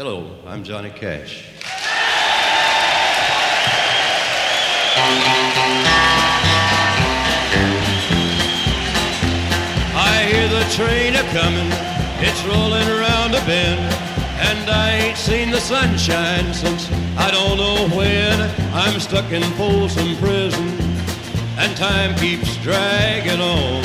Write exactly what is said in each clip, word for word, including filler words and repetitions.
Hello, I'm Johnny Cash. I hear the train a-comin', it's rolling around a bend, and I ain't seen the sunshine since I don't know when. I'm stuck in Folsom Prison, and time keeps dragging on.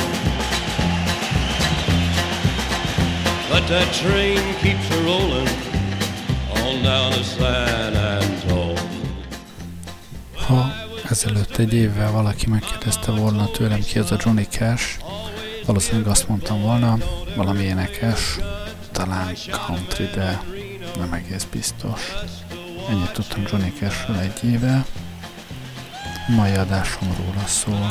But that train keeps a-rolling on down to San Antone. Ha ezelőtt egy évvel valaki megkérdezte volna tőlem, ki az a Johnny Cash, valószínűleg azt mondtam volna, valami énekes, talán country, de nem egész biztos. Ennyit tudtam Johnny Cashről egy éve. Mai adásom róla szól.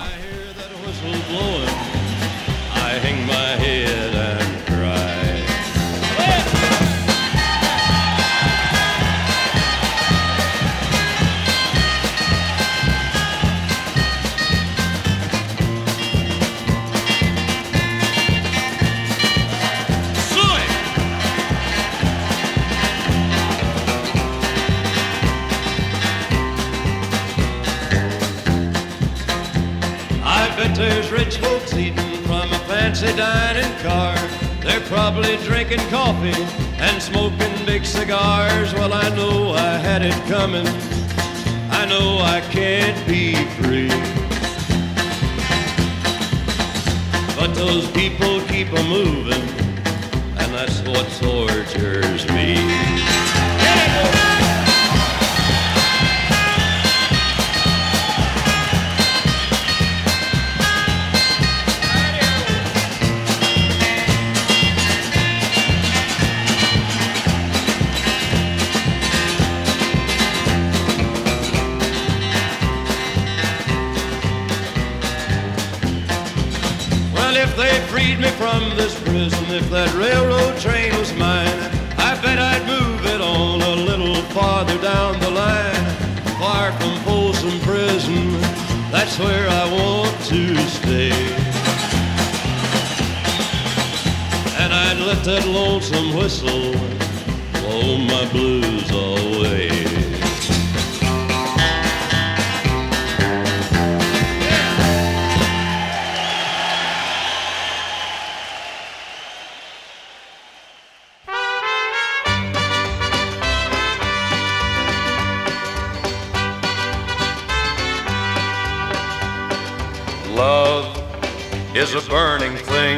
I hang my head and cry. There's rich folks eating from a fancy dining car. They're probably drinking coffee and smoking big cigars. Well, I know I had it coming. I know I can't be free. But those people keep a moving, and that's what tortures me. If they freed me from this prison, if that railroad train was mine, I bet I'd move it on a little farther down the line. Far from Folsom Prison, that's where I want to stay. And I'd let that lonesome whistle blow my blues away. Is a burning thing,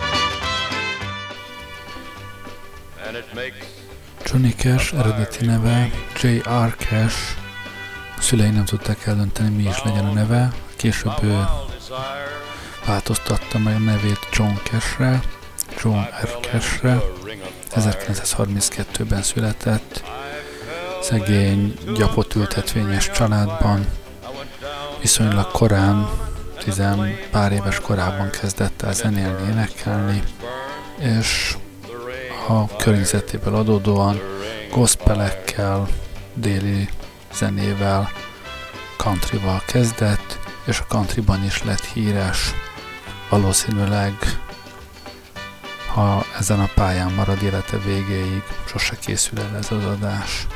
and it makes... Johnny Cash eredeti neve J R Cash. A szülei nem tudták eldönteni, mi is legyen a neve. Később ő változtatta meg a nevét John Cashre, John R. Cashre. ezerkilencszázharminckettőben született, szegény, gyapott ültetvényes családban. Viszonylag korán, tizen pár éves korában kezdett el zenélni, énekelni, és a környezetéből adódóan gospelekkel, déli zenével, countryval kezdett, és a countryban is lett híres. Valószínűleg, ha ezen a pályán marad élete végéig, sose készül el ez az adás.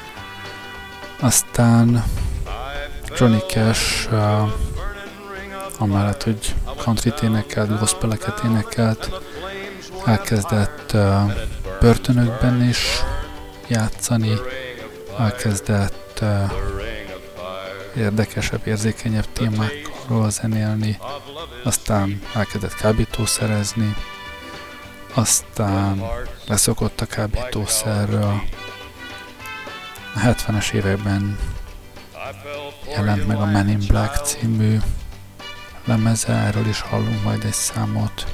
Aztán Johnny Cash uh, amellett, hogy countryt énekelt, gospeleket énekelt, elkezdett uh, börtönökben is játszani, elkezdett uh, érdekesebb, érzékenyebb témákról zenélni, aztán elkezdett kábítószerezni, aztán leszokott a kábítószerről. A hetvenes években jelent meg a Men in Black című lemeze, erről is hallunk majd egy számot.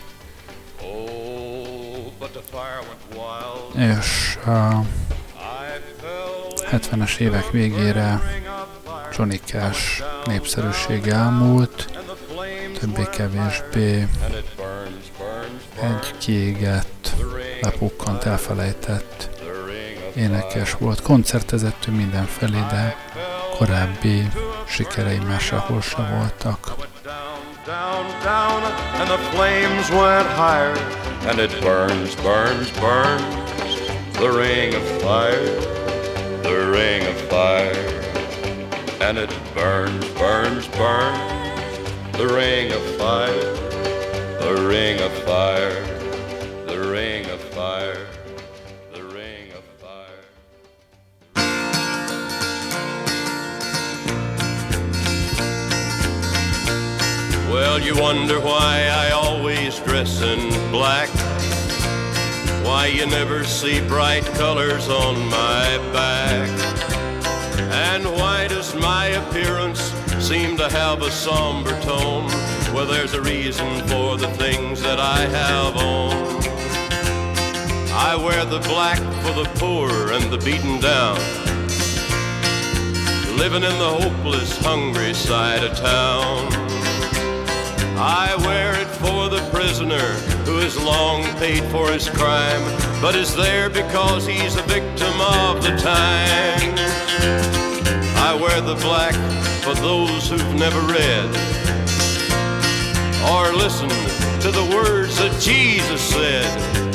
És a hetvenes évek végére Johnny Cash népszerűsége elmúlt, többé-kevésbé egy kiégett, lepukkant, elfelejtett énekes volt. Koncertezett ő mindenfelé, de korábbi sikerei már sehol se voltak. Down, down, and the flames went higher, and it burns, burns, burns. the ring of fire, the ring of fire, and it burns, burns, burns, the ring of fire, the ring of fire, the ring of fire, the ring of fire. Well, you wonder why I always dress in black, why you never see bright colors on my back, and why does my appearance seem to have a somber tone? Well, there's a reason for the things that I have on. I wear the black for the poor and the beaten down, living in the hopeless, hungry side of town. I wear it for the prisoner who has long paid for his crime, but is there because he's a victim of the time. I wear the black for those who've never read or listened to the words that Jesus said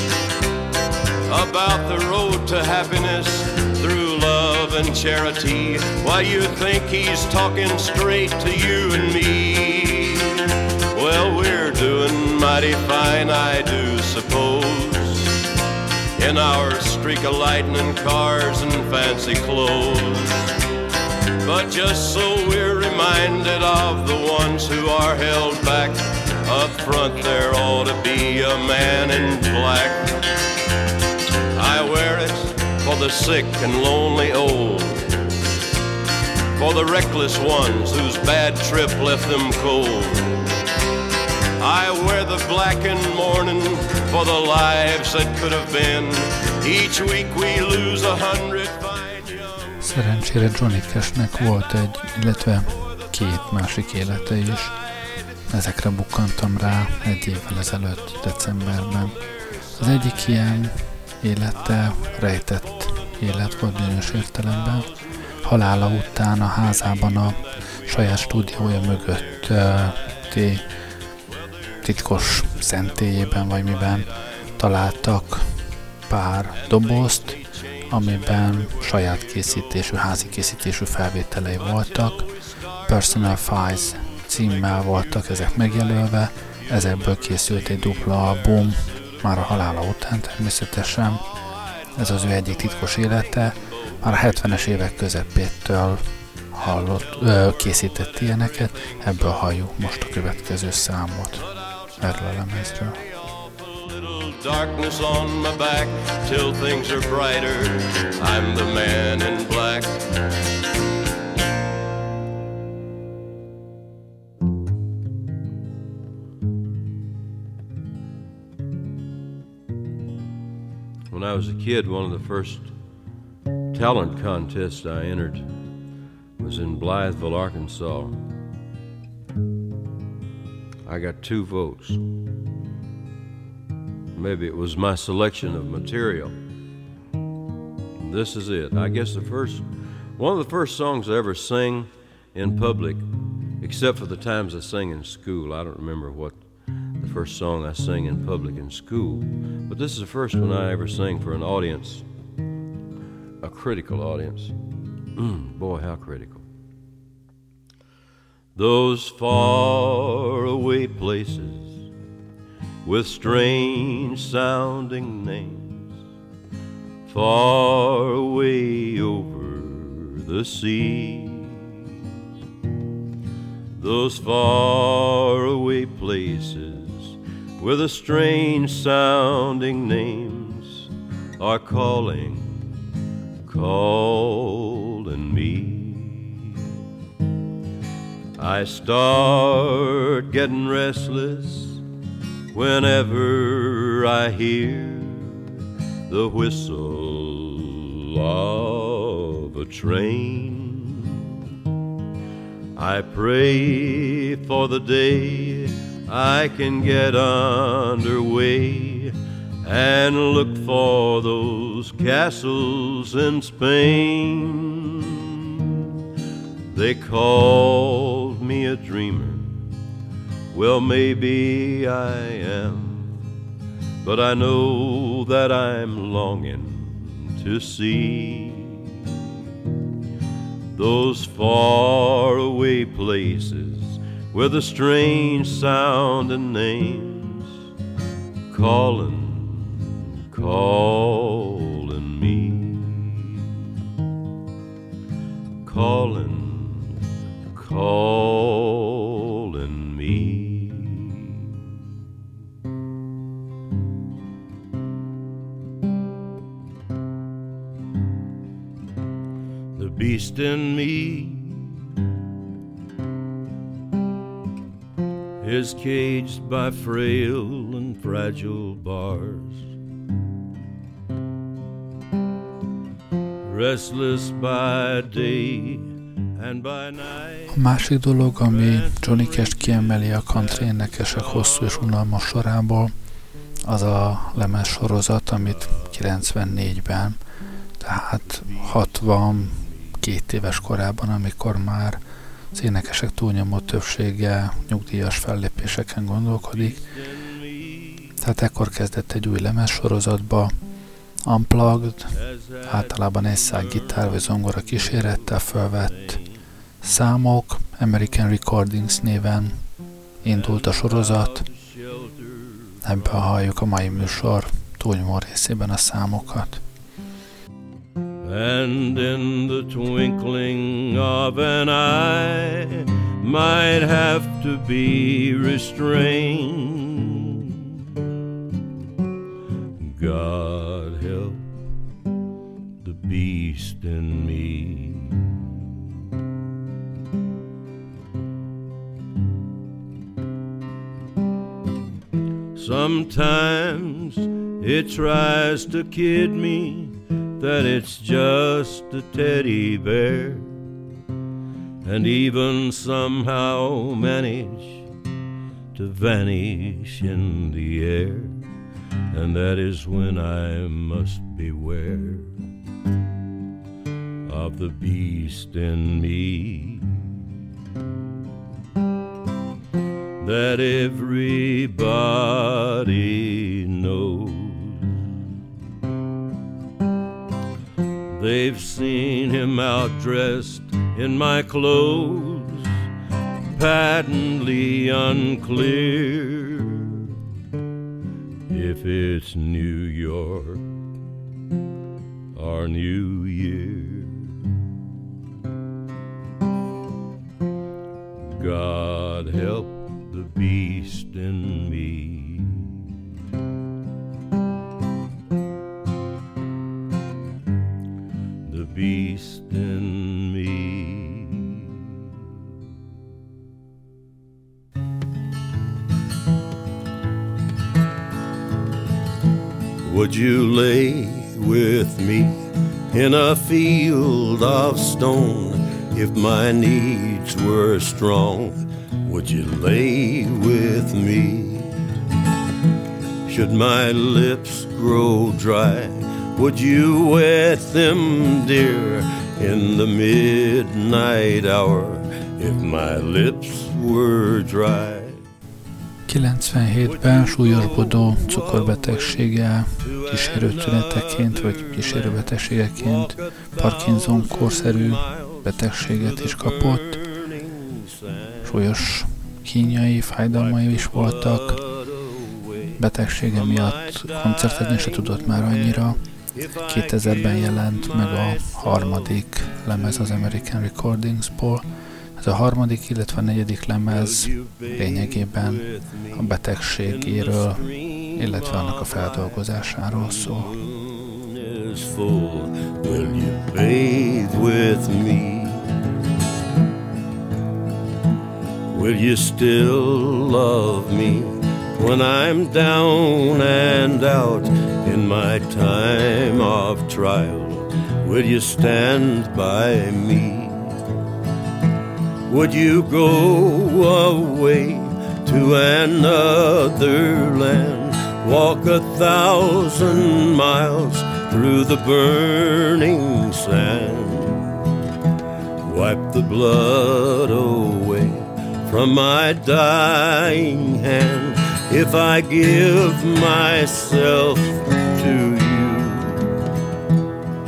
about the road to happiness through love and charity. Why, you think he's talking straight to you and me? Well, we're doing mighty fine, I do suppose, in our streak of lightning cars and fancy clothes. But just so we're reminded of the ones who are held back, up front there ought to be a man in black. I wear it for the sick and lonely old, for the reckless ones whose bad trip left them cold. I wear the black in mourning for the lives that could have been. Each week we lose a hundred fine young. Szerencsére Johnny Cashnek volt egy, illetve két másik élete is. Ezekre bukkantam rá egy évvel ezelőtt, decemberben. Az egyik ilyen élete rejtett élet volt bizonyos értelemben. Halála után a házában a saját stúdiója mögött uh, titkos szentélyében vagy miben találtak pár dobozt, amiben saját készítésű, házi készítésű felvételei voltak. Personal Files címmel voltak ezek megjelölve, ezekből készült egy dupla album, már a halála után természetesen. Ez az ő egyik titkos élete, már a hetvenes évek közepétől hallott, ö, készített ilyeneket, ebből halljuk most a következő számot erről a lemezről. Darkness on my back till things are brighter. I'm the man in black. When I was a kid, one of the first talent contests I entered was in Blytheville, Arkansas. I got two votes. Maybe it was my selection of material. This is it. I guess the first, one of the first songs I ever sang in public, except for the times I sang in school. I don't remember what the first song I sang in public in school, but this is the first one I ever sang for an audience, a critical audience. Mm, boy, how critical. Those far away places with strange sounding names, far away over the sea. Those far away places with the strange sounding names are calling, calling me. I start getting restless whenever I hear the whistle of a train. I pray for the day I can get underway and look for those castles in Spain. They called me a dreamer. Well, maybe I am, but I know that I'm longing to see those far away places where the strange sound and names calling, calling me, calling, calling me. The beast in me is caged by frail and fragile bars, restless by day and by night. A másik dolog, ami Johnny Cash kiemeli a country énekesek hosszú és unalmas sorából, az a lemez sorozat, amit kilencvennégyben, tehát hatvankét éves korában, amikor már az énekesek túlnyomó többsége nyugdíjas fellépéseken gondolkodik. Tehát ekkor kezdett egy új lemezsorozatba, unplugged, általában egy szág gitár vagy zongora kísérettel felvett számok, American Recordings néven indult a sorozat. Ebben halljuk a mai műsor túlnyomó részében a számokat. And in the twinkling of an eye might have to be restrained. God help the beast in me. Sometimes it tries to kid me that it's just a teddy bear, and even somehow manage to vanish in the air, and that is when I must beware of the beast in me that everybody knows. They've seen him outdressed in my clothes, patently unclear if it's New York or New Year. God help the beast in me. The beast in me. Would you lay with me in a field of stone if my needs were strong? Would you lay with me? Should my lips grow dry, would you wet them, dear, in the midnight hour if my lips were dry? kilencvenhétben súlyosbodó cukorbetegsége kísérőtüneteként vagy kísérőbetegségeként Parkinson-korszerű betegséget is kapott. Súlyos kínjai, fájdalmai is voltak. Betegsége miatt koncertezni se tudott már annyira. kétezerben jelent meg a harmadik lemez az American Recordingsból. Ez a harmadik, illetve a negyedik lemez lényegében a betegségéről, illetve annak a feldolgozásáról szól. Will you bathe with me? Will you still love me when I'm down and out in my time of trial? Will you stand by me? Would you go away to another land, walk a thousand miles through the burning sand, wipe the blood away from my dying hand if I give myself to you?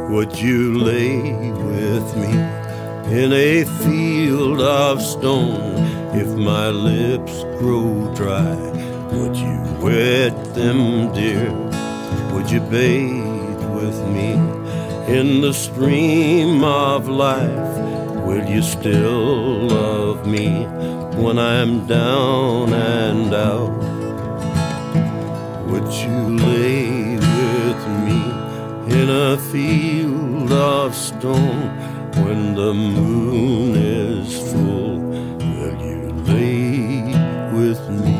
would you lay with me in a field of stone? If my lips grow dry, would you wet them, dear? Would you bathe with me in the stream of life? Will you still love me when I'm down and out? Would you lay with me in a field of stone when the moon is full? Will you lay with me?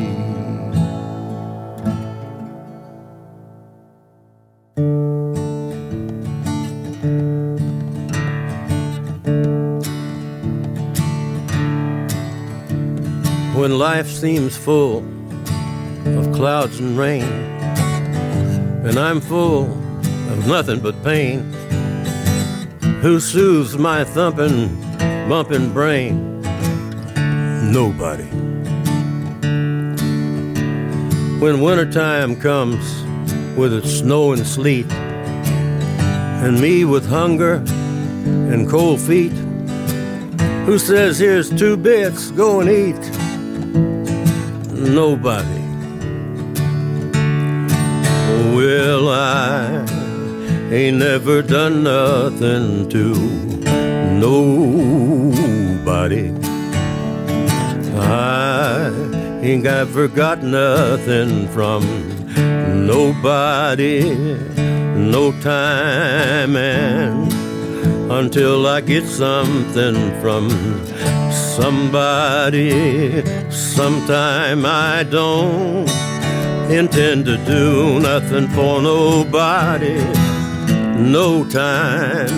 When life seems full of clouds and rain, and I'm full of nothing but pain, who soothes my thumping, bumping brain? Nobody. When wintertime comes with its snow and sleet, and me with hunger and cold feet, who says here's two bits, go and eat? Nobody. Well, I ain't never done nothing to nobody. I ain't ever got nothing from nobody, no time, and until I get something from somebody, sometime I don't intend to do nothing for nobody, no time.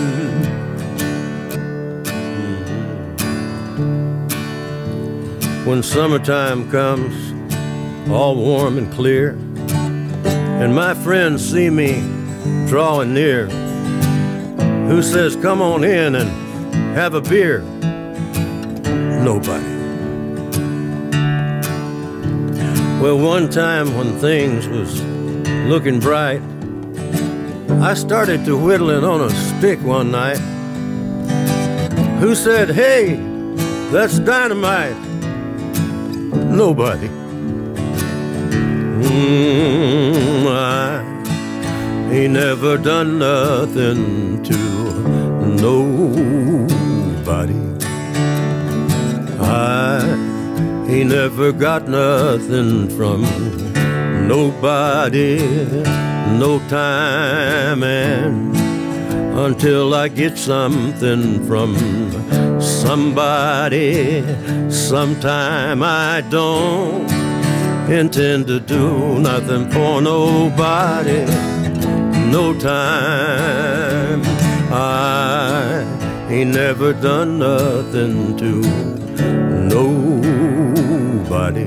Mm-hmm. When summertime comes, all warm and clear, and my friends see me drawing near, who says, come on in and have a beer? Nobody. Well, one time when things was looking bright, I started to whittling on a stick one night. Who said, hey, that's dynamite? Nobody. Mm, I ain't never done nothing to nobody. I ain't never got nothing from nobody, no time, and until I get something from somebody, sometime I don't intend to do nothing for nobody, no time. I ain't never done nothing to nobody.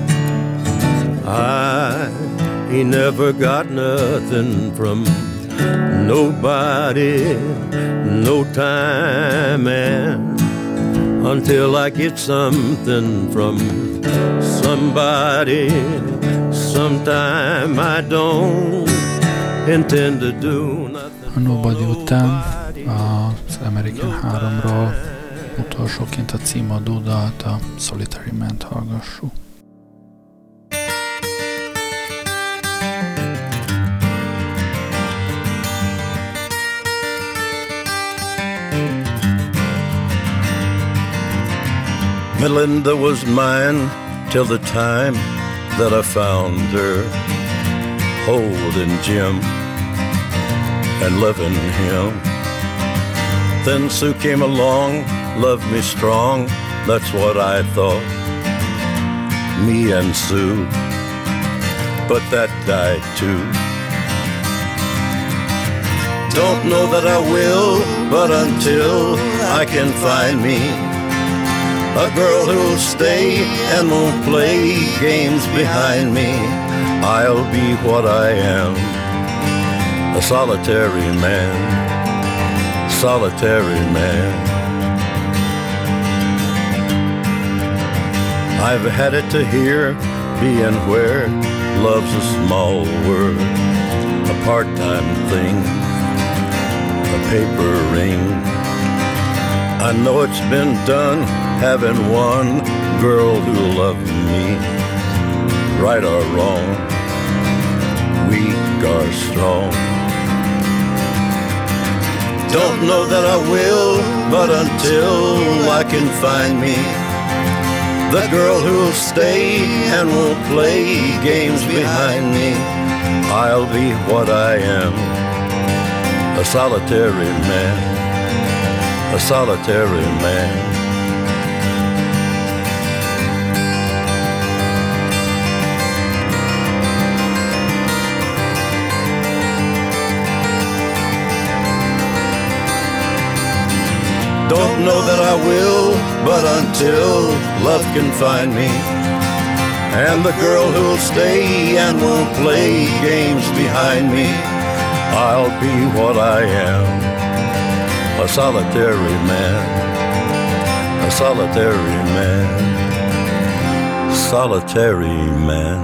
I ain't never got nothing from nobody, no time, and until I get something from somebody, sometime I don't intend to do nothing. A Nobody után az American háromról utolsóként a címadó dalt, a Solitary Man-t hallgassuk. Melinda was mine till the time that I found her holding Jim and loving him. Then Sue came along, loved me strong, that's what I thought, me and Sue, but that died too. Don't know that I will, but until I can find me a girl who'll stay and won't play games behind me, I'll be what I am, a solitary man, solitary man. I've had it to hear, being where love's a small word, a part-time thing, a paper ring. I know it's been done having one girl who loved me, right or wrong, weak or strong. Don't know that I will, but until I can find me the girl who'll stay and won't play games behind me, I'll be what I am, a solitary man, a solitary man. Don't know that I will, but until love can find me, and the girl who'll stay and won't play games behind me, I'll be what I am, a solitary man, a solitary man, solitary man.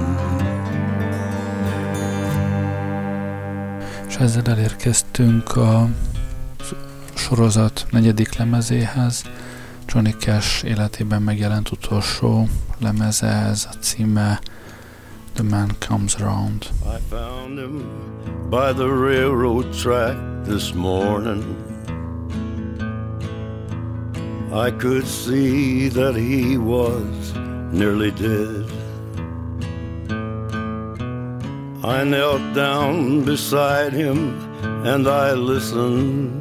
És ezzel elérkeztünk a sorozat negyedik lemezéhez, Johnny Cash életében megjelent utolsó lemeze, ez a címe The Man Comes Around. I found him by the railroad track this morning. I could see that he was nearly dead. I knelt down beside him and I listened,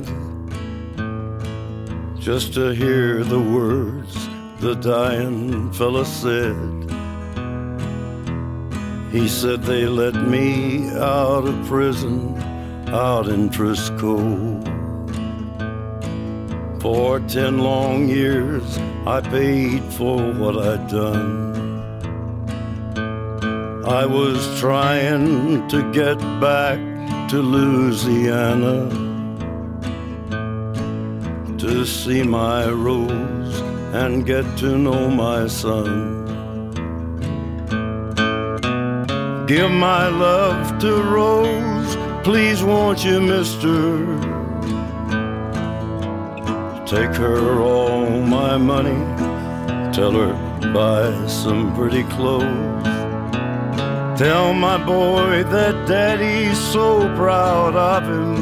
just to hear the words the dying fella said. He said they let me out of prison, out in Frisco. For ten long years I paid for what I'd done. I was trying to get back to Louisiana, to see my Rose and get to know my son. Give my love to Rose, please won't you, mister? Take her all my money, tell her buy some pretty clothes. Tell my boy that daddy's so proud of him,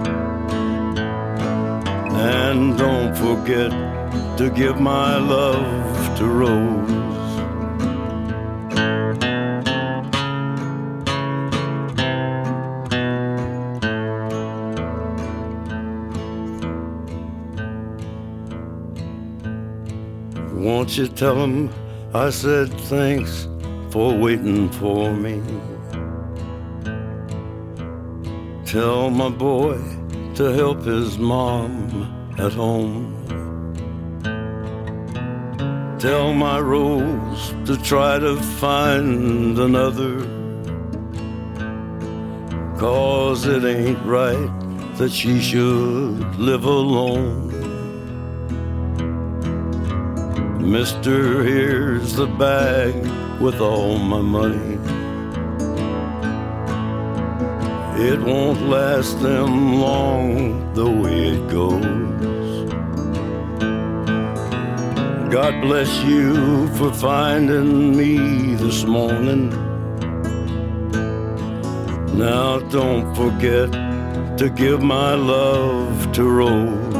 and don't forget to give my love to Rose. Won't you tell him I said thanks for waiting for me? Tell my boy to help his mom at home. Tell my Rose to try to find another, 'cause it ain't right that she should live alone. Mister, here's the bag with all my money. It won't last them long the way it goes. God bless you for finding me this morning. Now don't forget to give my love to Rose.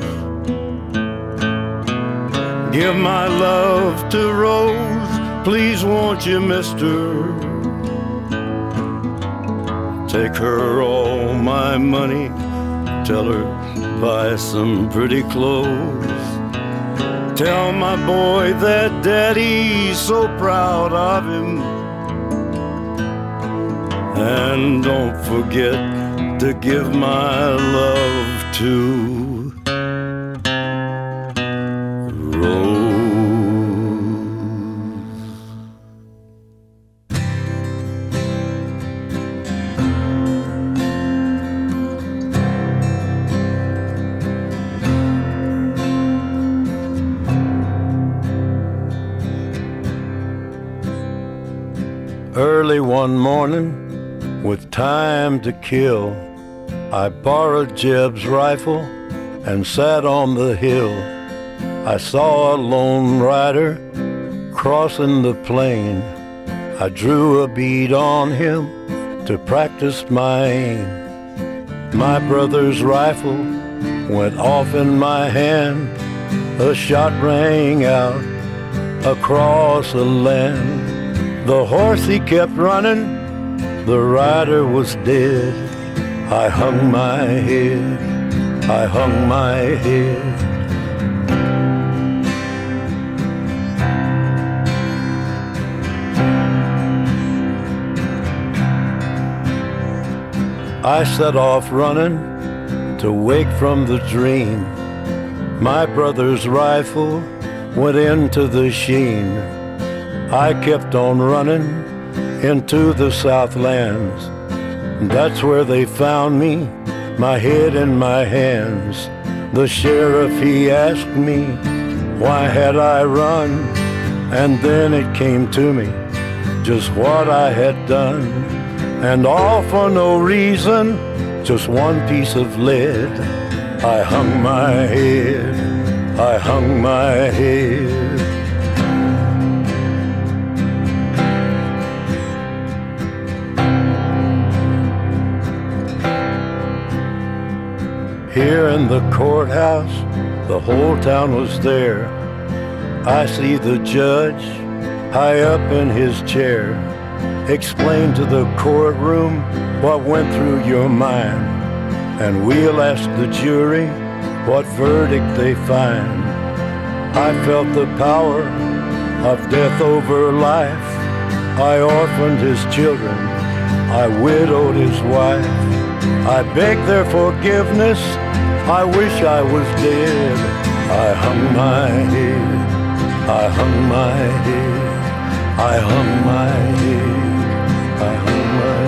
Give my love to Rose, please won't you, mister? Take her all my money, tell her buy some pretty clothes. Tell my boy that daddy's so proud of him, and don't forget to give my love to Rose. Early one morning, with time to kill, I borrowed Jeb's rifle and sat on the hill. I saw a lone rider crossing the plain. I drew a bead on him to practice my aim. My brother's rifle went off in my hand. A shot rang out across the land. The horse he kept running, the rider was dead. I hung my head, I hung my head. I set off running to wake from the dream. My brother's rifle went into the sheen. I kept on running into the Southlands. That's where they found me, my head in my hands. The sheriff, he asked me, why had I run? And then it came to me, just what I had done. And all for no reason, just one piece of lead. I hung my head, I hung my head. Here in the courthouse, the whole town was there. I see the judge high up in his chair. Explain to the courtroom what went through your mind, and we'll ask the jury what verdict they find. I felt the power of death over life. I orphaned his children, I widowed his wife. I begged their forgiveness, I wish I was dead. I hung my head, I hung my head, I hung my head. I hung my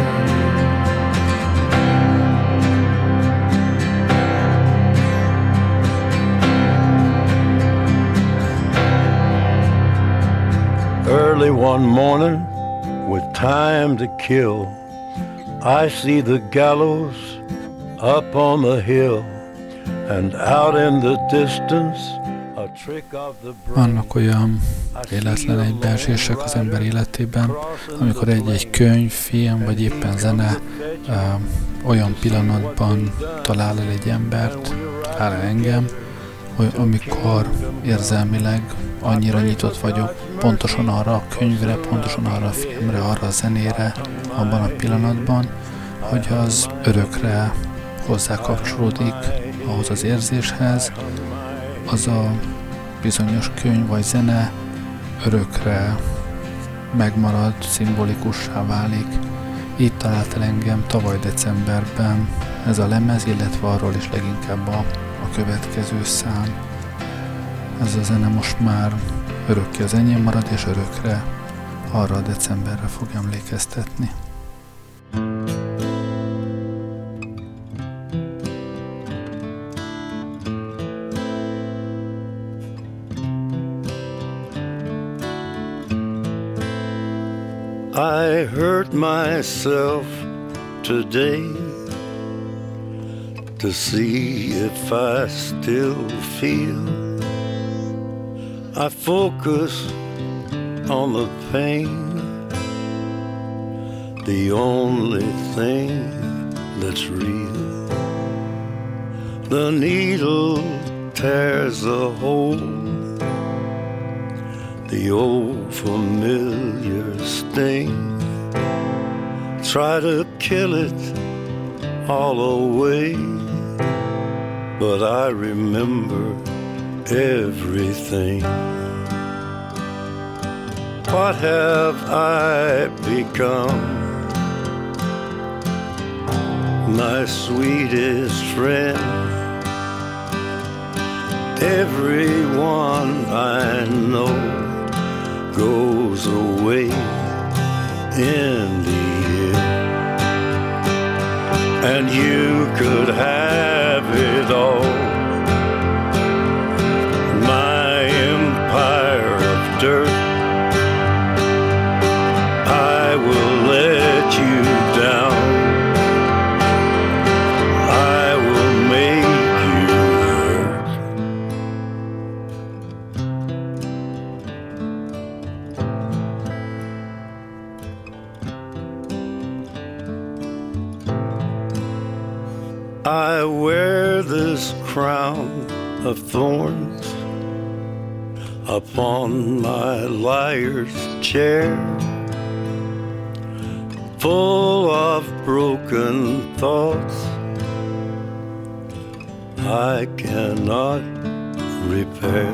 head. Early one morning, with time to kill, I see the gallows up on the hill, and out in the distance a trick of the brain. Vannak olyan véletlen egybeesések az ember életében, amikor egy-egy könyv, film vagy éppen zene ö, olyan pillanatban talál el egy embert, talál el engem, hogy amikor érzelmileg annyira nyitott vagyok pontosan arra a könyvre, pontosan arra a filmre, arra a zenére abban a pillanatban, hogy az örökre hozzá kapcsolódik ahhoz az érzéshez, az a bizonyos könyv vagy zene örökre megmarad, szimbolikussá válik. Így talált el engem tavaly decemberben ez a lemez, illetve arról is leginkább a, a következő szám. Ez a zene most már örökké az enyém marad, és örökre arra a decemberre fog emlékeztetni. I hurt myself today to see if I still feel. I focus on the pain, the only thing that's real. The needle tears a hole, the old familiar sting. Try to kill it all away, but I remember everything. What have I become? My sweetest friend, everyone I know goes away in the end, and you could have it all. My empire of dirt, I will let you down. I wear this crown of thorns upon my liar's chair, full of broken thoughts I cannot repair.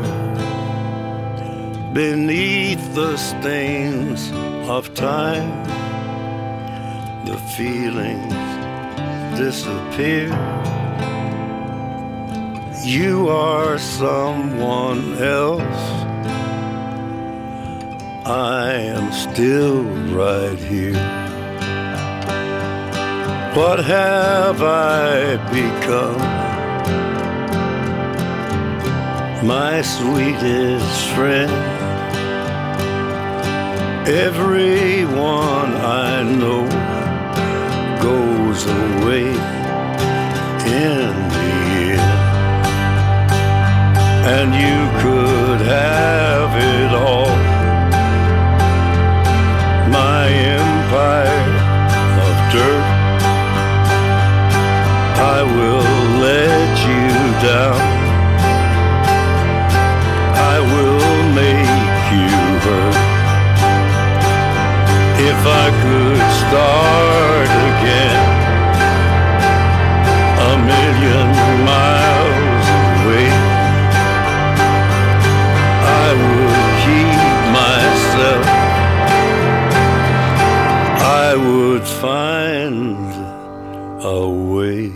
Beneath the stains of time, the feelings disappear. You are someone else, I am still right here. What have I become? My sweetest friend, everyone I know goes away in the end. And you could have it all, my empire of dirt. I will let you down, I will make you hurt. If I could start again, a million miles away, I would keep myself, I would find a way.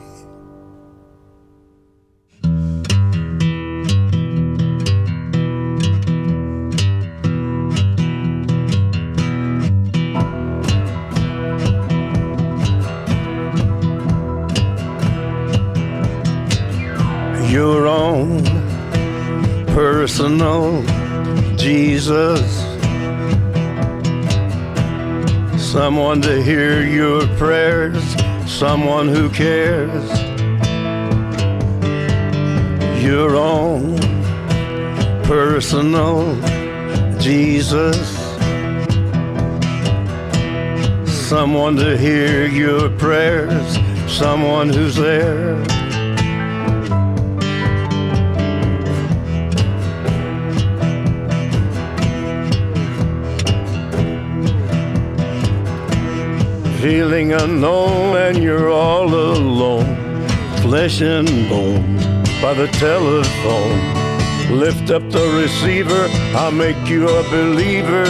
Your own personal Jesus, someone to hear your prayers, someone who cares. Your own personal Jesus, someone to hear your prayers, someone who's there. Feeling unknown and you're all alone, flesh and bone by the telephone. Lift up the receiver, I'll make you a believer.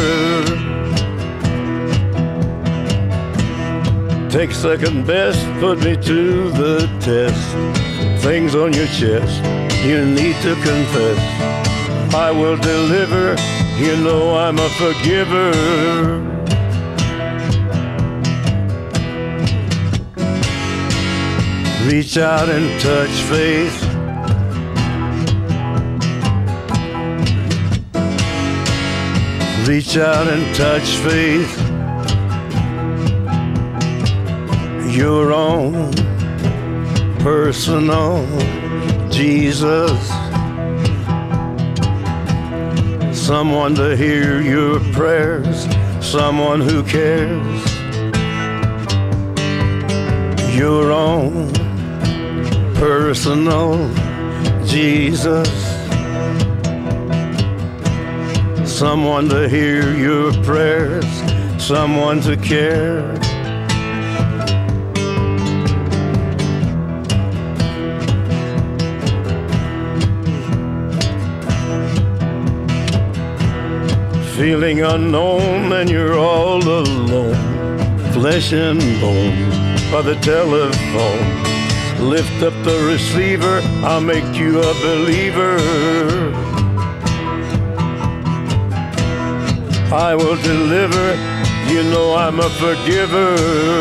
Take second best, put me to the test. Things on your chest, you need to confess. I will deliver, you know I'm a forgiver. Reach out and touch faith. Reach out and touch faith. Your own personal Jesus, someone to hear your prayers, someone who cares. Your own personal Jesus, someone to hear your prayers, someone to care. Feeling unknown and you're all alone, flesh and bone by the telephone. Lift up the receiver, I'll make you a believer. I will deliver, you know I'm a forgiver.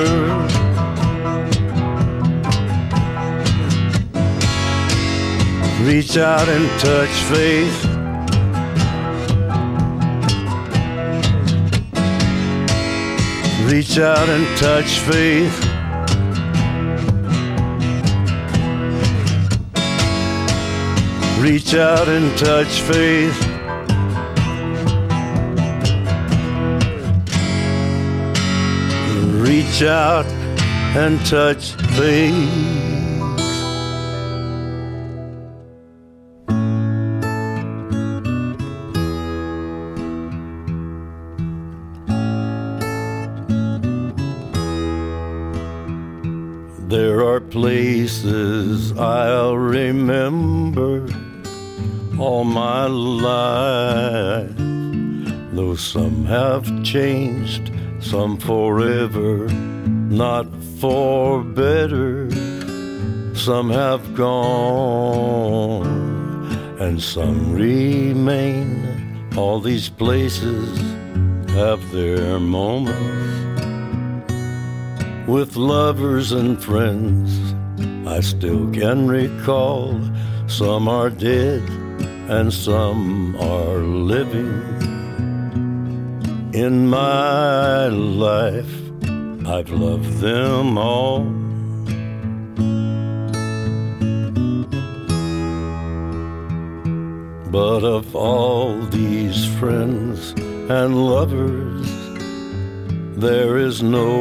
Reach out and touch faith. Reach out and touch faith. Reach out and touch faith. Reach out and touch faith. are places I'll remember all my life, though some have changed, some forever, not for better. Some have gone and some remain. All these places have their moments. With lovers and friends I still can recall. Some are dead and some are living. In my life I've loved them all. But of all these friends and lovers, there is no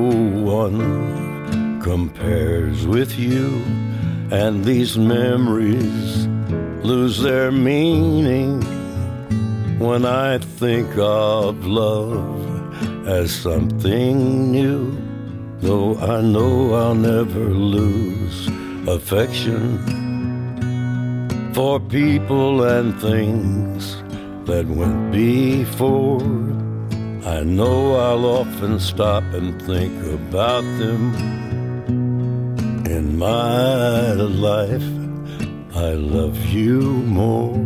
one compares with you, and these memories lose their meaning when I think of love as something new. Though I know I'll never lose affection for people and things that went before. I know I'll often stop and think about them. In my life, I love you more.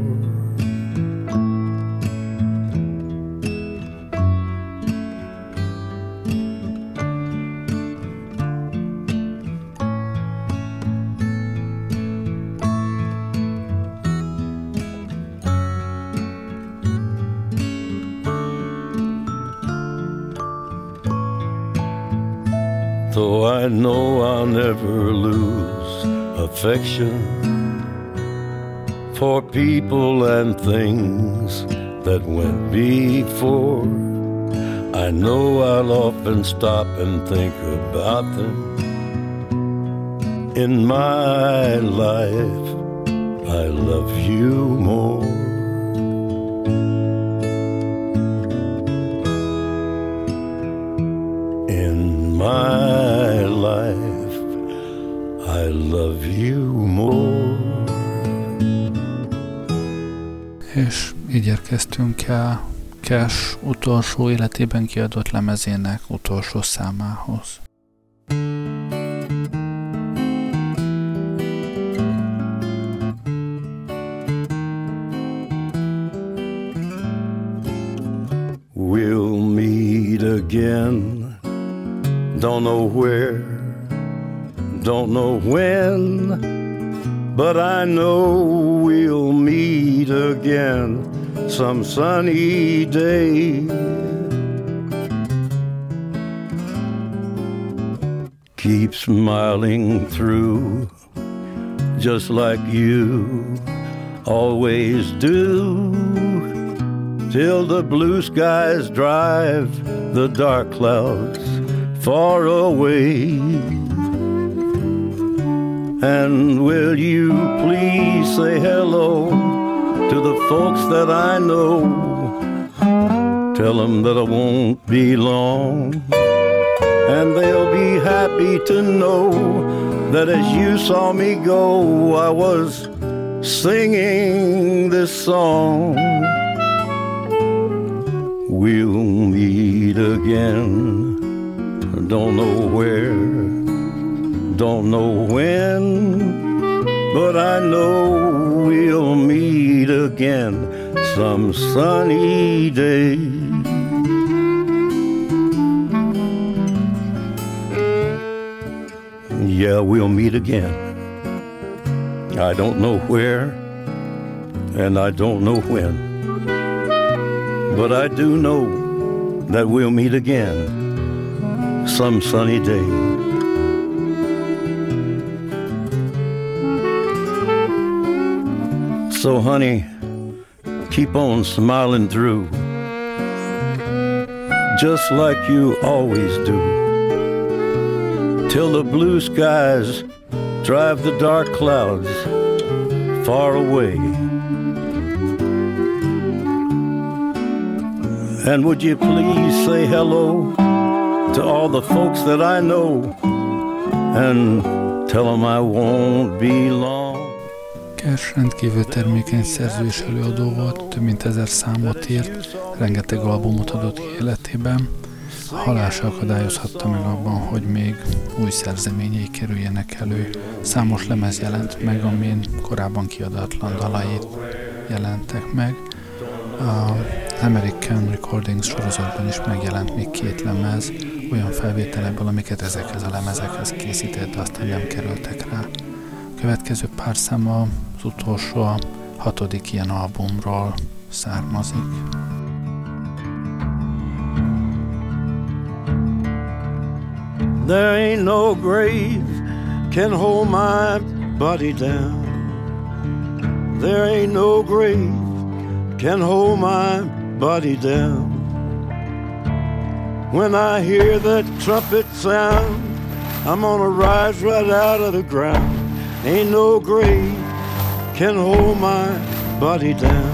Though I know I'll never lose affection for people and things that went before, I know I'll often stop and think about them. In my life, I love you more. In my life, I love you more. És így érkeztünk el Cash utolsó életében kiadott lemezének utolsó számához. We'll meet again. Don't know where, don't know when, but I know we'll meet again some sunny day. Keep smiling through, just like you always do, till the blue skies drive the dark clouds far away. And will you please say hello to the folks that I know? Tell them that I won't be long, and they'll be happy to know that as you saw me go, I was singing this song. We'll meet again. Don't know where, don't know when, but I know we'll meet again some sunny day. Yeah, we'll meet again. I don't know where, and I don't know when, but I do know that we'll meet again some sunny day. So honey, keep on smiling through, just like you always do, till the blue skies drive the dark clouds far away. And would you please say hello to all the folks that I know, and tell them I won't be long. Cash rendkívül termékeny szerző és előadó volt, több mint ezer számot írt, rengeteg albumot adott ki életében. A halása akadályozhatta meg abban, hogy még új szerzeményei kerüljenek elő. Számos lemez jelent meg, amin korábban kiadatlan dalai jelentek meg. Az American Recordings sorozatban is megjelent még két lemez, olyan felvételekből, amiket ezekhez a lemezekhez készített, de aztán nem kerültek rá. A következő pár szám az utolsó, a hatodik ilyen albumról származik. There ain't no grave can hold my body down. There ain't no grave can hold my body down. When I hear that trumpet sound, I'm gonna rise right out of the ground. Ain't no grave can hold my body down.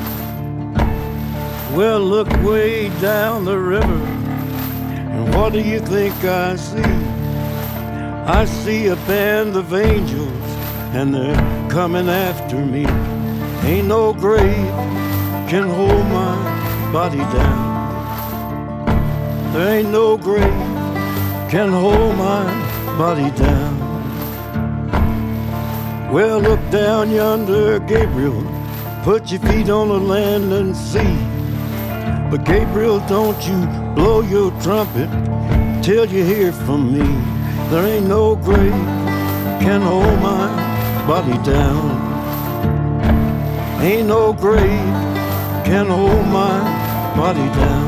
Well, look way down the river, and what do you think I see? I see a band of angels, and they're coming after me. Ain't no grave can hold my body down. There ain't no grave can hold my body down. Well, look down yonder, Gabriel, put your feet on the land and see. But Gabriel, don't you blow your trumpet till you hear from me. There ain't no grave can hold my body down. Ain't no grave can hold my body down.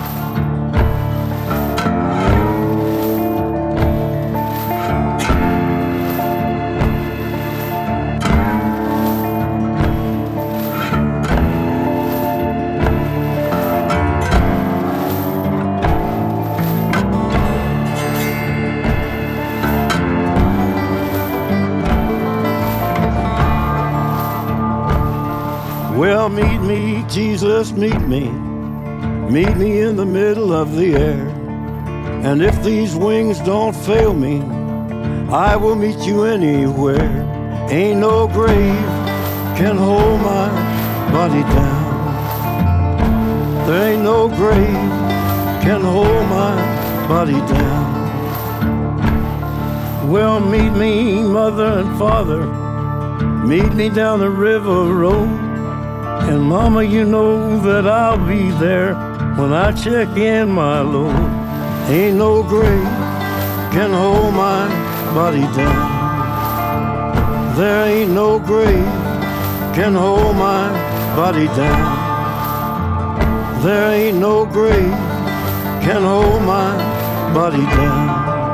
Well, meet me, Jesus, meet me. Meet me in the middle of the air. And if these wings don't fail me, I will meet you anywhere. Ain't no grave can hold my body down. There ain't no grave can hold my body down. Well, meet me, mother and father. Meet me down the river road. And mama, you know that I'll be there when I check in my load. Ain't no grave can hold my body down. There ain't no grave can hold my body down. There ain't no grave can hold my body down.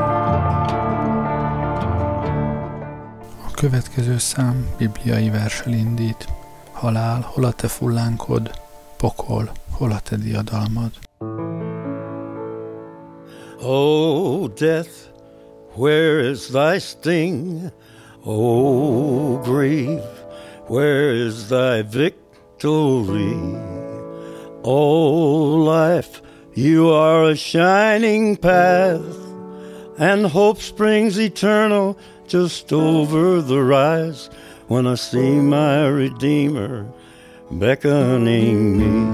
A következő szám bibliai verssel indít. Halál, hol a te fullánkod, pokol, hol a te diadalmad. Oh, death, where is thy sting? Oh, grave, where is thy victory? Oh, life, you are a shining path, and hope springs eternal just over the rise. When I see my Redeemer beckoning me.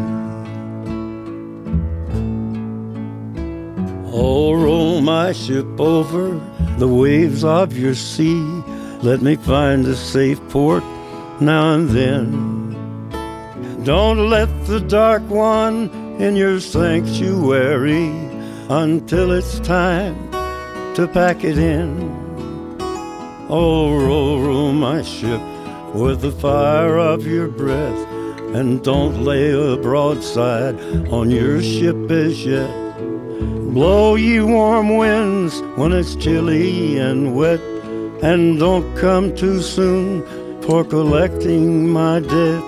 Oh, roll my ship over the waves of your sea. Let me find a safe port now and then. Don't let the dark one in your sanctuary until it's time to pack it in. Oh, roll, roll my ship with the fire of your breath, and don't lay a broadside on your ship as yet. Blow ye warm winds when it's chilly and wet, and don't come too soon for collecting my debt.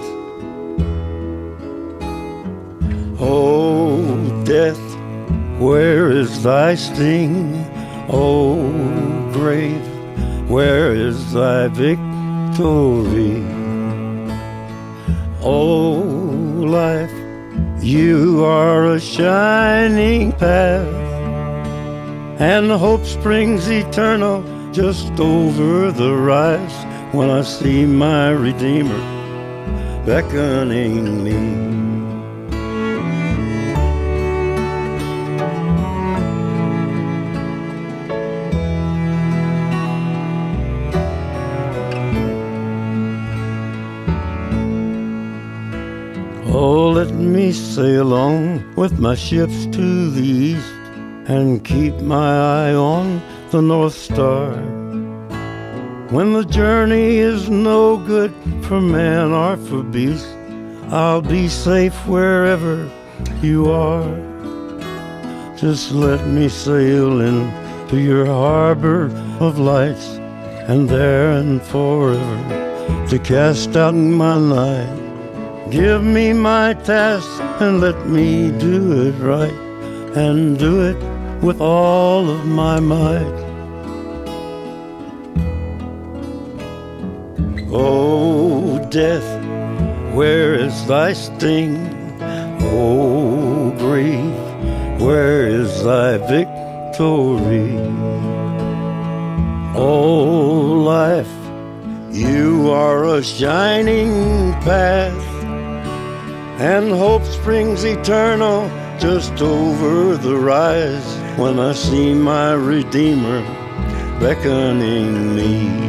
Oh, death, where is thy sting? Oh, grave, where is thy victory? Oh, life, you are a shining path, and hope springs eternal just over the rise when I see my Redeemer beckoning me. Oh, let me sail on with my ships to the east and keep my eye on the North Star. When the journey is no good for man or for beast, I'll be safe wherever you are. Just let me sail into your harbor of lights, and there and forever to cast out my night. Give me my task and let me do it right, and do it with all of my might. Oh, death, where is thy sting? Oh, grave, where is thy victory? Oh, life, you are a shining path, and hope springs eternal just over the rise when I see my Redeemer beckoning me.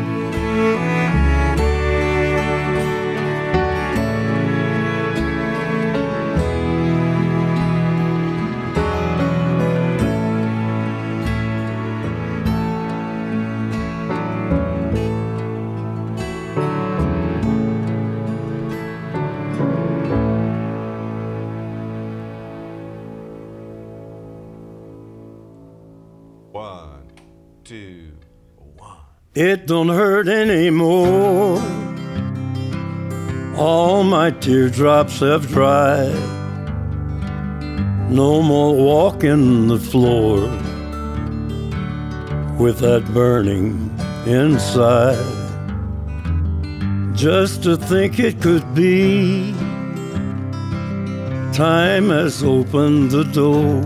It don't hurt anymore. All my teardrops have dried. No more walking the floor with that burning inside. Just to think it could be, time has opened the door,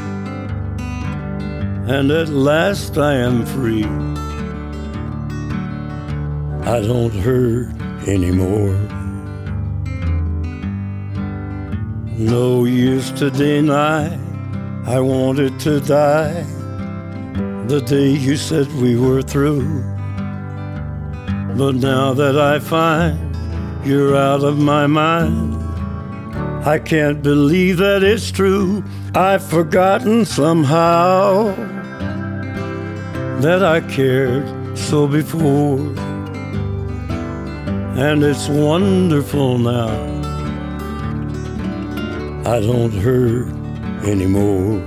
and at last I am free. I don't hurt anymore. No use to deny, I wanted to die the day you said we were through. But now that I find you're out of my mind, I can't believe that it's true. I've forgotten somehow that I cared so before. And it's wonderful now, I don't hurt anymore.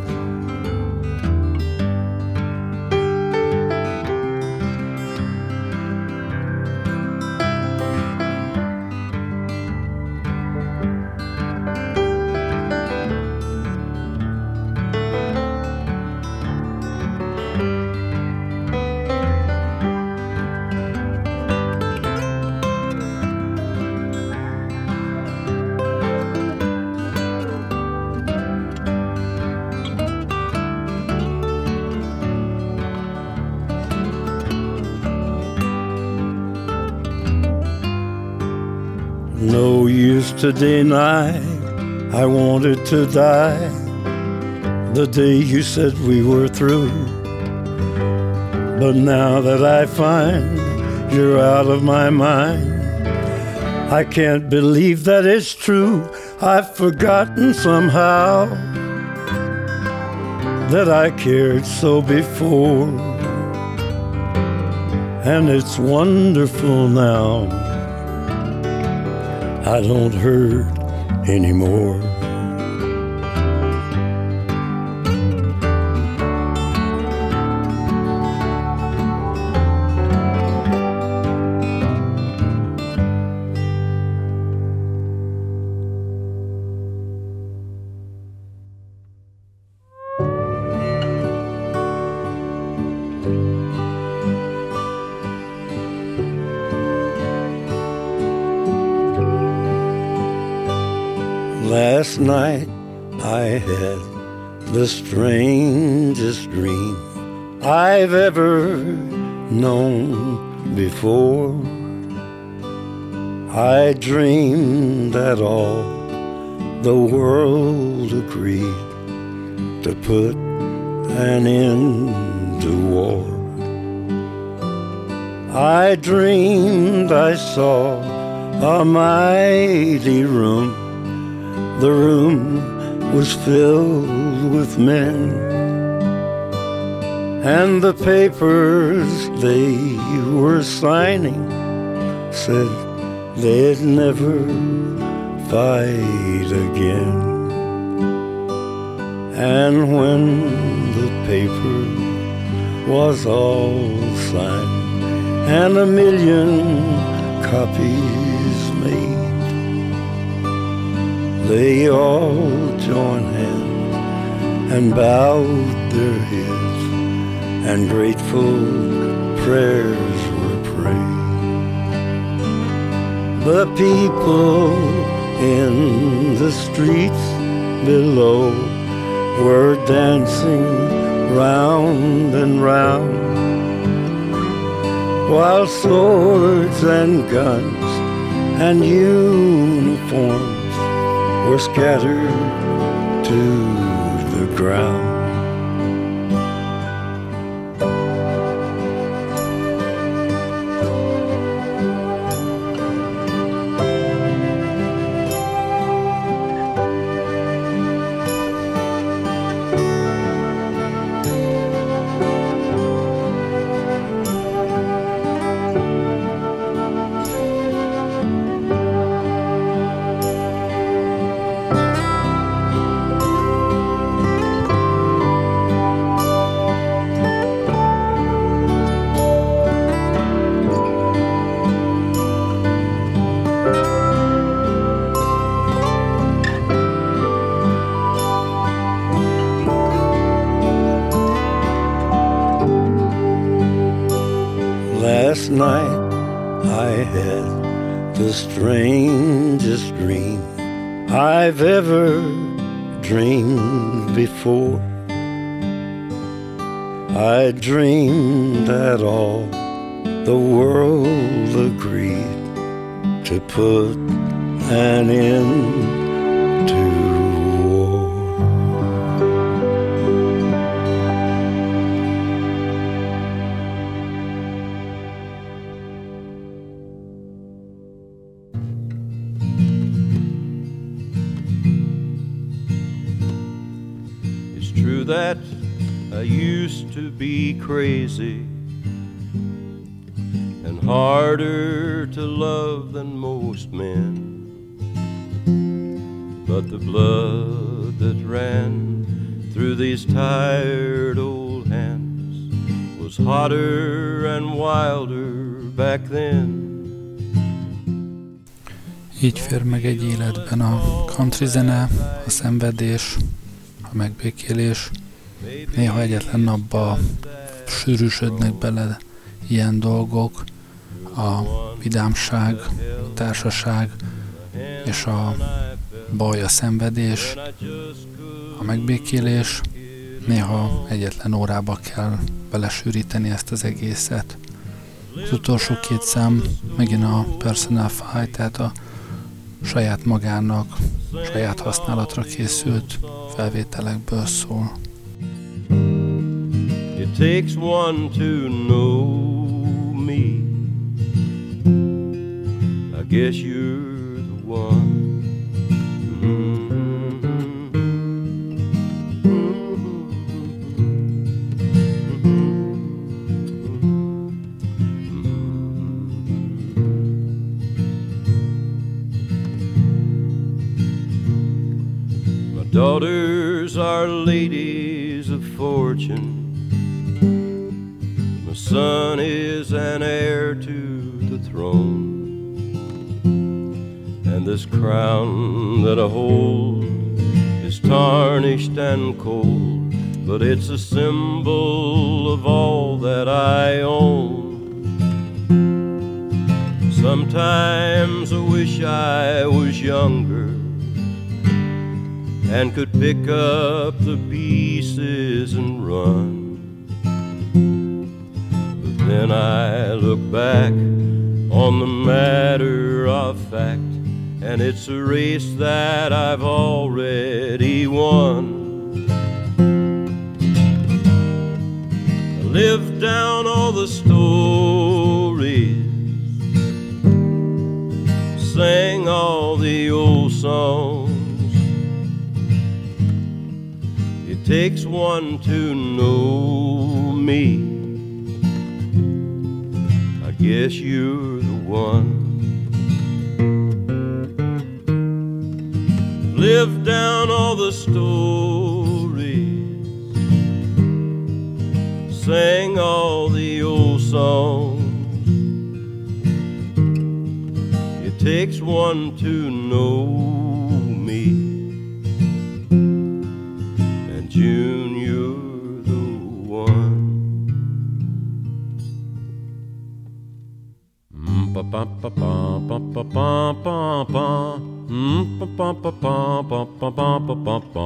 No use to deny, I wanted to die the day you said we were through. But now that I find you're out of my mind, I can't believe that it's true. I've forgotten somehow that I cared so before. And it's wonderful now, I don't hurt anymore. Last night I had the strangest dream I've ever known before. I dreamed that all the world agreed to put an end to war. I dreamed I saw a mighty room. The room was filled with men, and the papers they were signing said they'd never fight again. And when the paper was all signed and a million copies made, they all joined hands and bowed their heads, and grateful prayers were prayed. The people in the streets below were dancing round and round, while swords and guns and uniforms were scattered to the ground. Last night I had the strangest dream I've ever dreamed before. I dreamed that all the world agreed to put an end to war. True that I used to be crazy and harder to love than most men, but the blood that ran through these tired old hands was hotter and wilder back then. Így fér meg egy életben a country zene, a szenvedés, a megbékélés. Néha egyetlen napba sűrűsödnek bele ilyen dolgok, a vidámság, a társaság és a baj, a szenvedés, a megbékélés. Néha egyetlen órába kell belesűríteni ezt az egészet. Az utolsó két szám megint a personal fight, tehát a saját magának, saját használatra készült felvételekből szól. It takes one to know me. I guess you're the one. Daughters are ladies of fortune. My son is an heir to the throne. And this crown that I hold is tarnished and cold, but it's a symbol of all that I own. Sometimes I wish I was younger and could pick up the pieces and run. But then I look back on the matter of fact, and it's a race that I've already won. I lived down all the stories, sang all the old songs. It takes one to know me. I guess you're the one. Lived down all the stories, sang all the old songs. It takes one to know me, and June, you're the one. Mm, ba ba ba ba ba ba ba ba ba. Mm, ba ba ba ba ba ba ba ba ba ba.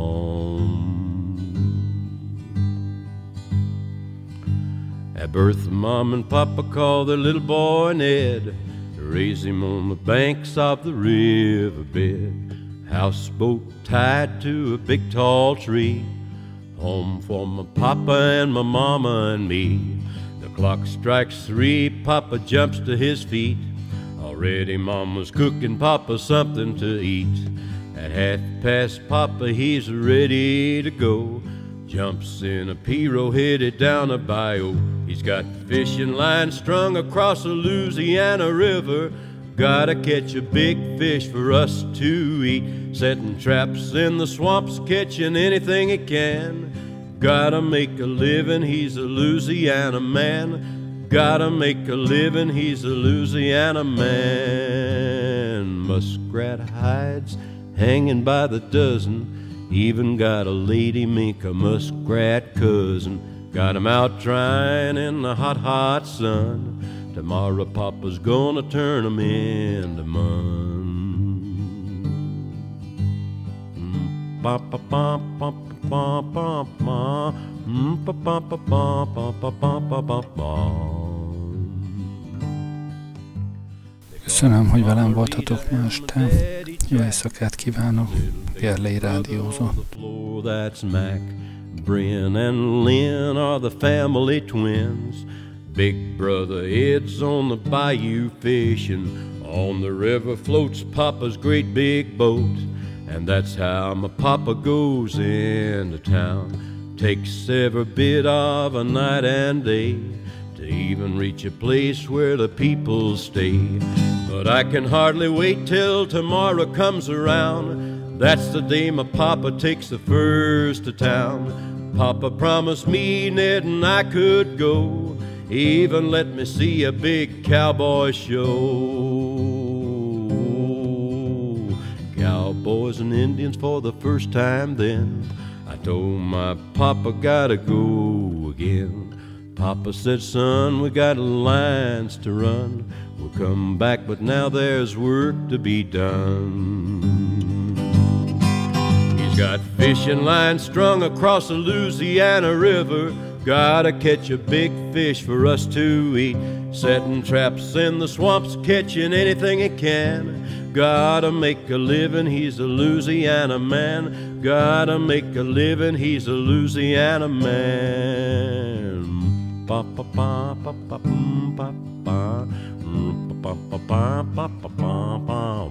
At birth, Mom and Papa called their little boy Ned, raised him on the banks of the riverbed. Houseboat tied to a big tall tree, home for my papa and my mama and me. The clock strikes three, Papa jumps to his feet. Already Mama's cooking Papa something to eat. At half past, Papa, he's ready to go. Jumps in a pirogue headed down a bayou. He's got fishing lines strung across the Louisiana River. Gotta catch a big fish for us to eat. Setting traps in the swamps, catching anything he can. Gotta make a living, he's a Louisiana man. Gotta make a living, he's a Louisiana man. Muskrat hides hanging by the dozen. Even got a lady mink, a muskrat cousin. Got him out trying in the hot, hot sun. Tomorrow Papa's gonna turn him into mun. Ba ba ba ba ba ba ba. Ba ba ba ba ba ba ba ba ba. Köszönöm, hogy velem voltatok ma este. Jó éjszakát kívánok. Gerlei rádiózott. That's Mac, Bryn and Lynn are the family twins. Big brother Ed's on the bayou fishing. On the river floats Papa's great big boat. And that's how my Papa goes into town. Takes every bit of a night and day to even reach a place where the people stay. But I can hardly wait till tomorrow comes around. That's the day my Papa takes the first to town. Papa promised me Ned and I could go. Even let me see a big cowboy show. Cowboys and Indians for the first time then. I told my Papa gotta go again. Papa said, son, we got lines to run. We'll come back, but now there's work to be done. He's got fishing lines strung across the Louisiana River. Gotta catch a big fish for us to eat. Setting traps in the swamps, catching anything he can. Gotta make a living, he's a Louisiana man. Gotta make a living, he's a Louisiana man. Pa pa pa pa pa pa pa pa pa pa pa pa pa pa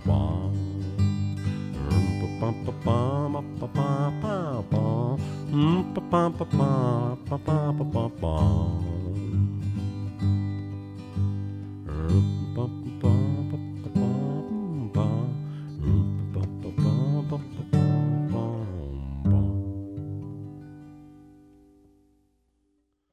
pa pa pa pa.